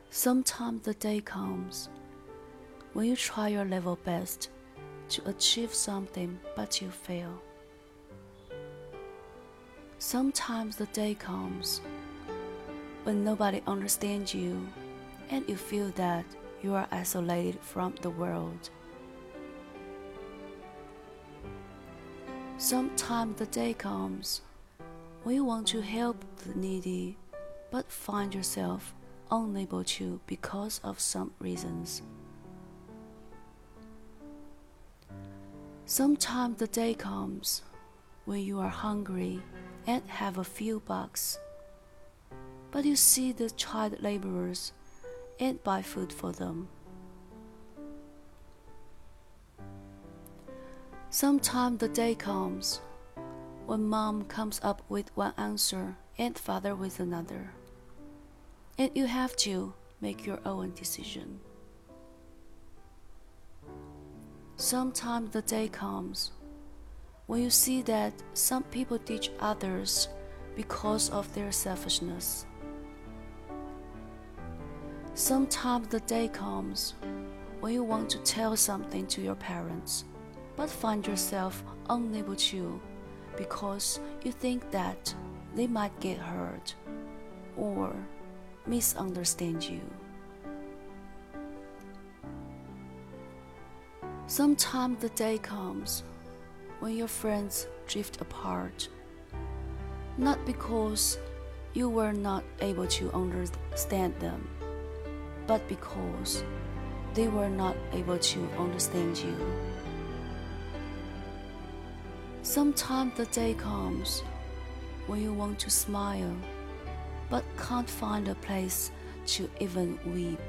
Sometimes the day comes when you try your level best to achieve something but you fail. Sometimes the day comes when nobody understands you and you feel that you are isolated from the world. Sometimes the day comes when you want to help the needy but find yourself unable to because of some reasons. Sometimes the day comes when you are hungry and have a few bucks, but you see the child laborers and buy food for them. Sometimes the day comes when mom comes up with one answer and father with another, and you have to make your own decision. Sometimes the day comes when you see that some people teach others because of their selfishness. Sometimes the day comes when you want to tell something to your parents, but find yourself unable to because you think that they might get hurt or misunderstand you. Sometimes the day comes when your friends drift apart, not because you were not able to understand them, but because they were not able to understand you. Sometimes the day comes when you want to smile, but can't find a place to even weep.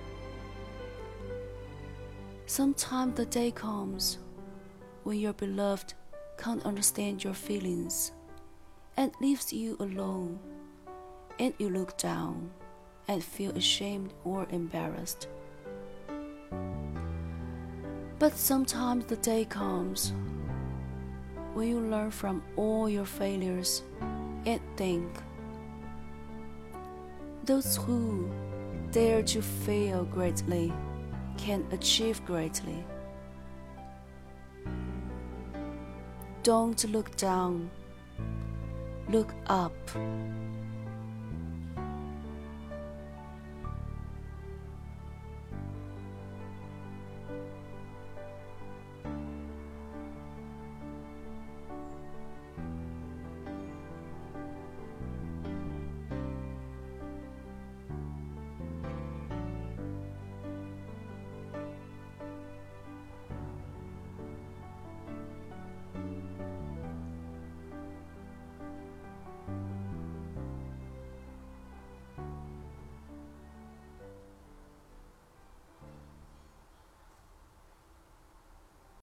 Sometimes the day comes when your beloved can't understand your feelings and leaves you alone, and you look down and feel ashamed or embarrassed. But sometimes the day comes when you learn from all your failures and think, those who dare to fail greatly can achieve greatly. Don't look down, look up.